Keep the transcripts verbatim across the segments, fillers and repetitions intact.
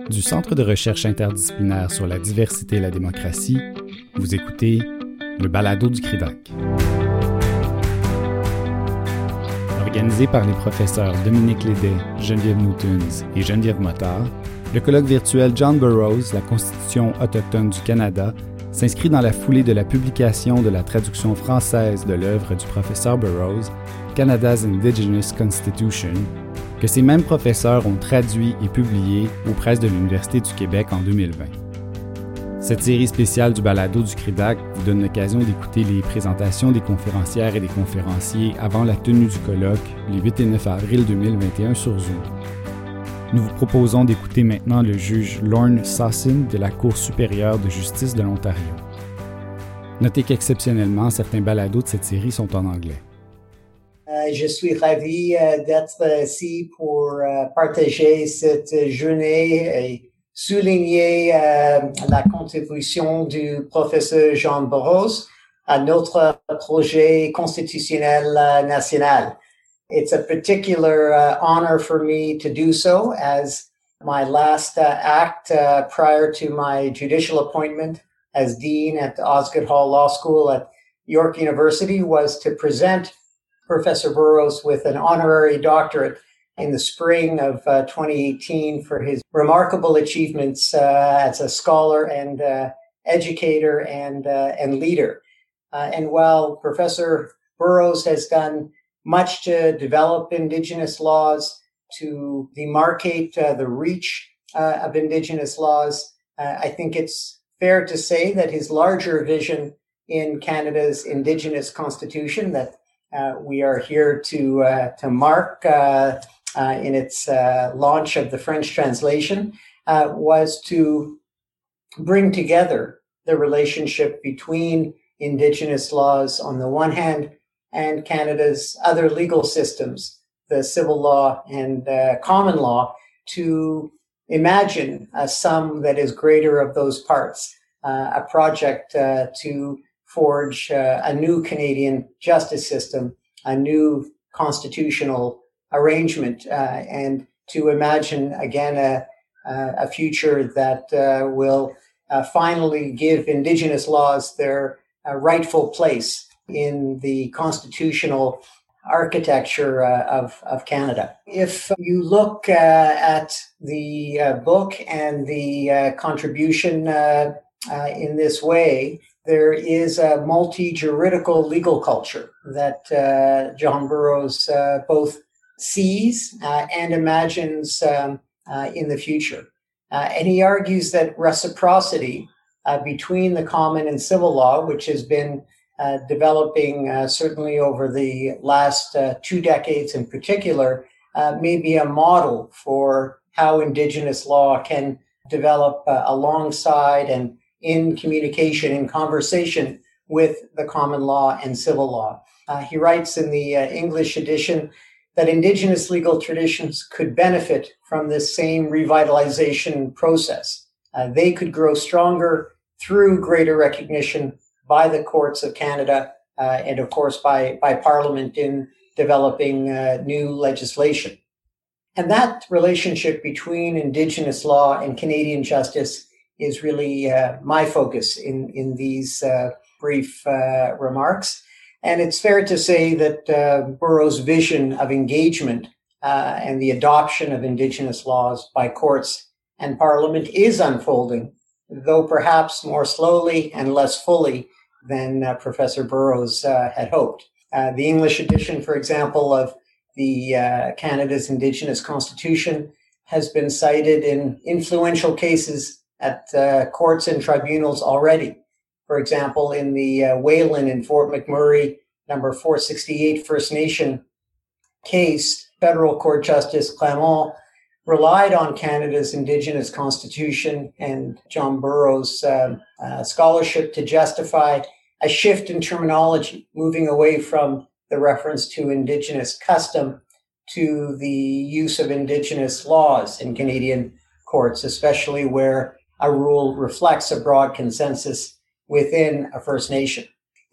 Du Centre de recherche interdisciplinaire sur la diversité et la démocratie, vous écoutez le balado du CRIDAC. Organisé par les professeurs Dominique Lédet, Geneviève Newtons et Geneviève Motard, le colloque virtuel John Burroughs, la Constitution autochtone du Canada, s'inscrit dans la foulée de la publication de la traduction française de l'œuvre du professeur Burroughs, Canada's Indigenous Constitution, que ces mêmes professeurs ont traduit et publié aux presses de l'Université du Québec en deux mille vingt. Cette série spéciale du balado du CRIDAC vous donne l'occasion d'écouter les présentations des conférencières et des conférenciers avant la tenue du colloque les huit et neuf avril deux mille vingt et un sur Zoom. Nous vous proposons d'écouter maintenant le juge Lorne Sossin de la Cour supérieure de justice de l'Ontario. Notez qu'exceptionnellement, certains balados de cette série sont en anglais. Euh, je suis ravi euh, d'être ici pour euh, partager cette journée et souligner euh, la contribution du professeur Jean Burroughs à notre projet constitutionnel uh, national. It's a particular uh, honor for me to do so, as my last uh, act uh, prior to my judicial appointment as dean at Osgoode Hall Law School at York University was to present Professor Burroughs with an honorary doctorate in the spring of uh, twenty eighteen for his remarkable achievements uh, as a scholar and uh, educator and uh, and leader. Uh, and while Professor Burroughs has done much to develop Indigenous laws, to demarcate uh, the reach uh, of Indigenous laws, uh, I think it's fair to say that his larger vision in Canada's Indigenous Constitution that uh, we are here to uh, to mark uh, uh, in its uh, launch of the French translation uh, was to bring together the relationship between Indigenous laws on the one hand and Canada's other legal systems, the civil law and uh, common law, to imagine a sum that is greater of those parts, uh, a project uh, to forge uh, a new Canadian justice system, a new constitutional arrangement, uh, and to imagine again a, a future that uh, will uh, finally give Indigenous laws their uh, rightful place in the constitutional architecture uh, of, of Canada. If you look uh, at the uh, book and the uh, contribution uh, uh, in this way, there is a multi-juridical legal culture that uh, John Burroughs uh, both sees uh, and imagines um, uh, in the future. Uh, and he argues that reciprocity uh, between the common and civil law, which has been Uh, developing uh, certainly over the last uh, two decades in particular, uh, may be a model for how Indigenous law can develop uh, alongside and in communication, in conversation with the common law and civil law. Uh, he writes in the uh, English edition that Indigenous legal traditions could benefit from this same revitalization process. Uh, they could grow stronger through greater recognition by the courts of Canada uh, and, of course, by, by Parliament in developing uh, new legislation. And that relationship between Indigenous law and Canadian justice is really uh, my focus in, in these uh, brief uh, remarks. And it's fair to say that uh, Burroughs' vision of engagement uh, and the adoption of Indigenous laws by courts and Parliament is unfolding, though perhaps more slowly and less fully than uh, Professor Burroughs uh, had hoped. Uh, the English edition, for example, of the uh, Canada's Indigenous Constitution has been cited in influential cases at uh, courts and tribunals already. For example, in the uh, Whalen in Fort McMurray, number four sixty-eight First Nation case, Federal Court Justice Clement relied on Canada's Indigenous Constitution and John Burroughs' um, uh, scholarship to justify a shift in terminology, moving away from the reference to Indigenous custom to the use of Indigenous laws in Canadian courts, especially where a rule reflects a broad consensus within a First Nation.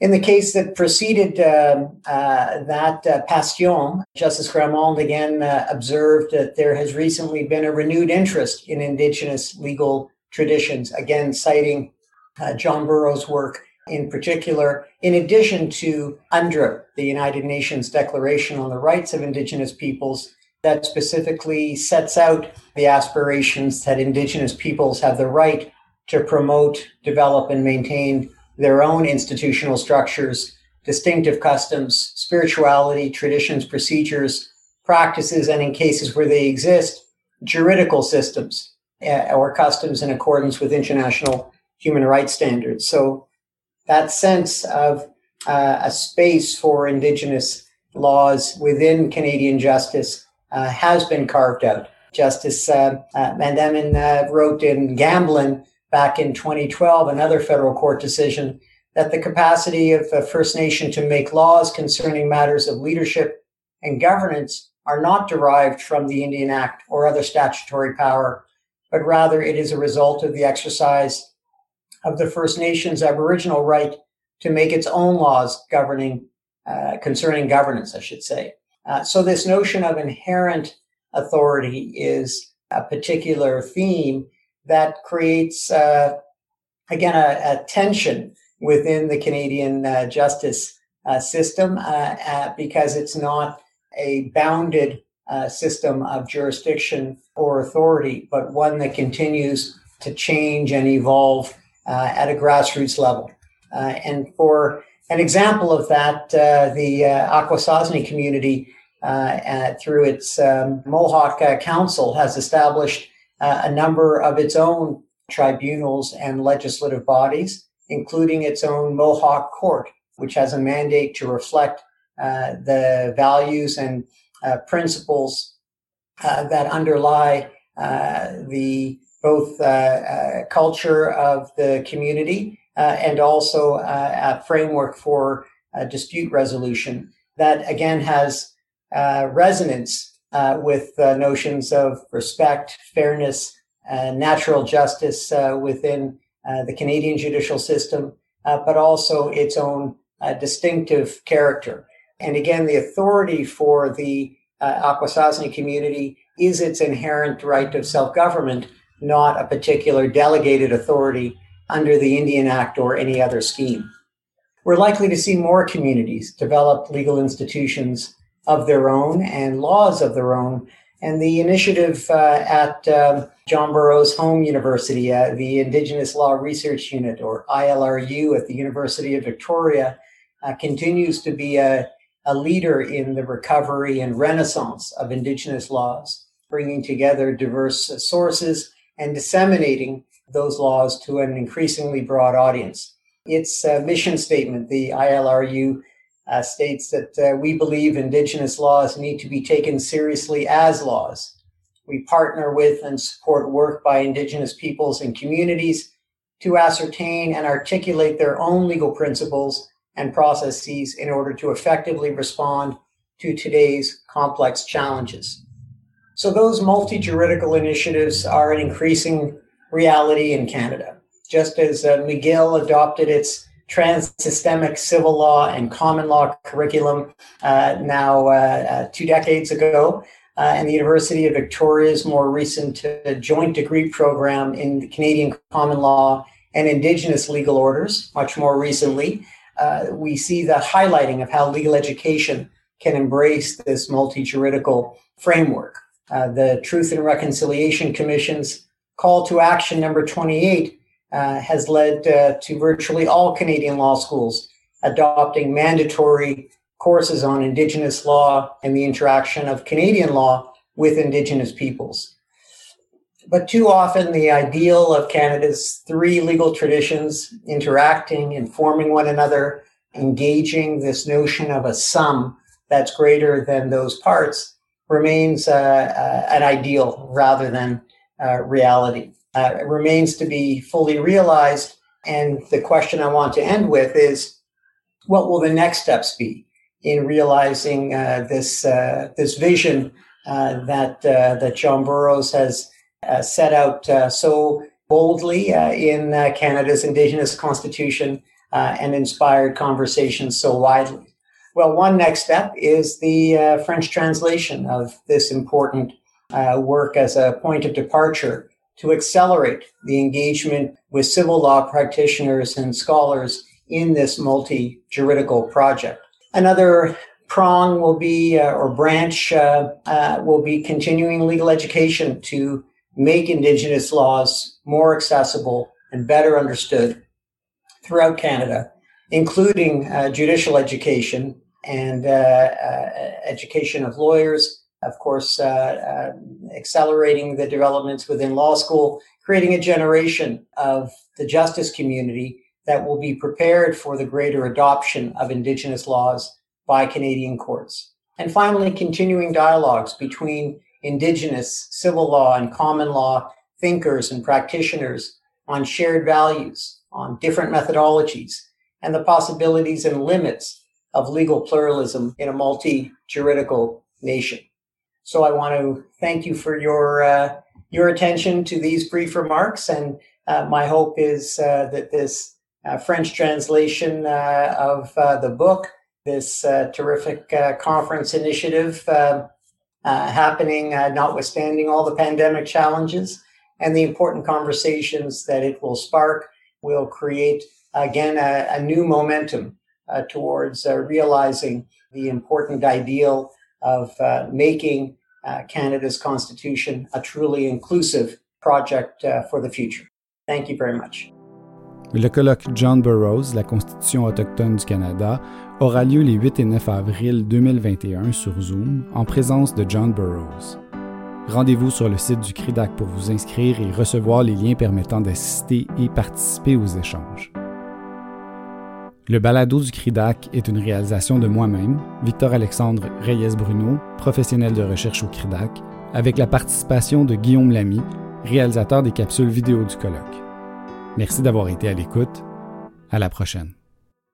In the case that preceded uh, uh, that uh, Passion, Justice Gramond again uh, observed that there has recently been a renewed interest in Indigenous legal traditions, again citing uh, John Burroughs' work in particular, in addition to UNDRIP, the United Nations Declaration on the Rights of Indigenous Peoples, that specifically sets out the aspirations that Indigenous peoples have the right to promote, develop, and maintain their own institutional structures, distinctive customs, spirituality, traditions, procedures, practices, and in cases where they exist, juridical systems uh, or customs in accordance with international human rights standards. So that sense of uh, a space for Indigenous laws within Canadian justice uh, has been carved out. Justice uh, uh, Mandamin uh, wrote in Gamblin back in twenty twelve, another federal court decision, that the capacity of a First Nation to make laws concerning matters of leadership and governance are not derived from the Indian Act or other statutory power, but rather it is a result of the exercise of the First Nations Aboriginal right to make its own laws governing, uh, concerning governance, I should say. Uh, so this notion of inherent authority is a particular theme that creates, uh, again, a, a tension within the Canadian uh, justice uh, system uh, uh, because it's not a bounded uh, system of jurisdiction or authority, but one that continues to change and evolve uh, at a grassroots level. Uh, and for an example of that, uh, the uh, Akwesasne community, uh, uh, through its um, Mohawk uh, Council, has established Uh, a number of its own tribunals and legislative bodies, including its own Mohawk Court, which has a mandate to reflect uh, the values and uh, principles uh, that underlie uh, the both uh, uh, culture of the community uh, and also uh, a framework for uh, dispute resolution that, again, has uh, resonance Uh, with uh, notions of respect, fairness, uh, natural justice uh, within uh, the Canadian judicial system, uh, but also its own uh, distinctive character. And again, the authority for the uh, Akwesasne community is its inherent right of self-government, not a particular delegated authority under the Indian Act or any other scheme. We're likely to see more communities develop legal institutions of their own and laws of their own. And the initiative uh, at um, John Burroughs Home University, uh, the Indigenous Law Research Unit, or I L R U at the University of Victoria, uh, continues to be a, a leader in the recovery and renaissance of Indigenous laws, bringing together diverse sources and disseminating those laws to an increasingly broad audience. Its uh, mission statement, the I L R U, Uh, states that uh, we believe Indigenous laws need to be taken seriously as laws. We partner with and support work by Indigenous peoples and communities to ascertain and articulate their own legal principles and processes in order to effectively respond to today's complex challenges. So those multi-juridical initiatives are an increasing reality in Canada. Just as uh, McGill adopted its trans-systemic civil law and common law curriculum uh, now uh, uh, two decades ago, uh, and the University of Victoria's more recent uh, joint degree program in the Canadian common law and Indigenous legal orders, much more recently, uh, we see the highlighting of how legal education can embrace this multi-juridical framework. Uh, the Truth and Reconciliation Commission's call to action number twenty-eight Uh, has led uh, to virtually all Canadian law schools adopting mandatory courses on Indigenous law and the interaction of Canadian law with Indigenous peoples. But too often, the ideal of Canada's three legal traditions interacting, informing one another, engaging this notion of a sum that's greater than those parts remains uh, uh, an ideal rather than uh, reality. Uh, it remains to be fully realized. And the question I want to end with is, what will the next steps be in realizing uh, this uh, this vision uh, that uh, that John Burroughs has uh, set out uh, so boldly uh, in uh, Canada's Indigenous Constitution uh, and inspired conversations so widely? Well, one next step is the uh, French translation of this important uh, work as a point of departure to accelerate the engagement with civil law practitioners and scholars in this multi-juridical project. Another prong will be, uh, or branch, uh, uh, will be continuing legal education to make Indigenous laws more accessible and better understood throughout Canada, including uh, judicial education and uh, uh, education of lawyers, of course, uh, uh, accelerating the developments within law school, creating a generation of the justice community that will be prepared for the greater adoption of Indigenous laws by Canadian courts. And finally, continuing dialogues between Indigenous civil law and common law thinkers and practitioners on shared values, on different methodologies, and the possibilities and limits of legal pluralism in a multi-juridical nation. So I want to thank you for your uh, your attention to these brief remarks, and uh, my hope is uh, that this uh, French translation uh, of uh, the book, this uh, terrific uh, conference initiative uh, uh, happening, uh, notwithstanding all the pandemic challenges, and the important conversations that it will spark, will create, again, a, a new momentum uh, towards uh, realizing the important ideal of uh, making uh, Canada's Constitution a truly inclusive project uh, for the future. Thank you very much. Le colloque John Burroughs, la Constitution autochtone du Canada, aura lieu les huit et neuf avril deux mille vingt et un sur Zoom en présence de John Burroughs. Rendez-vous sur le site du C R I D A C pour vous inscrire et recevoir les liens permettant d'assister et participer aux échanges. Le balado du C R I D A C est une réalisation de moi-même, Victor-Alexandre Reyes-Bruno, professionnel de recherche au C R I D A C, avec la participation de Guillaume Lamy, réalisateur des capsules vidéo du colloque. Merci d'avoir été à l'écoute. À la prochaine.